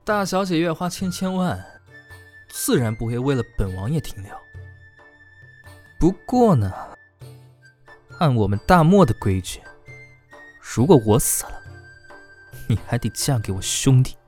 大小姐月花千万，自然不会为了本王爷停留。不过呢，按我们大漠的规矩，如果我死了，你还得嫁给我兄弟。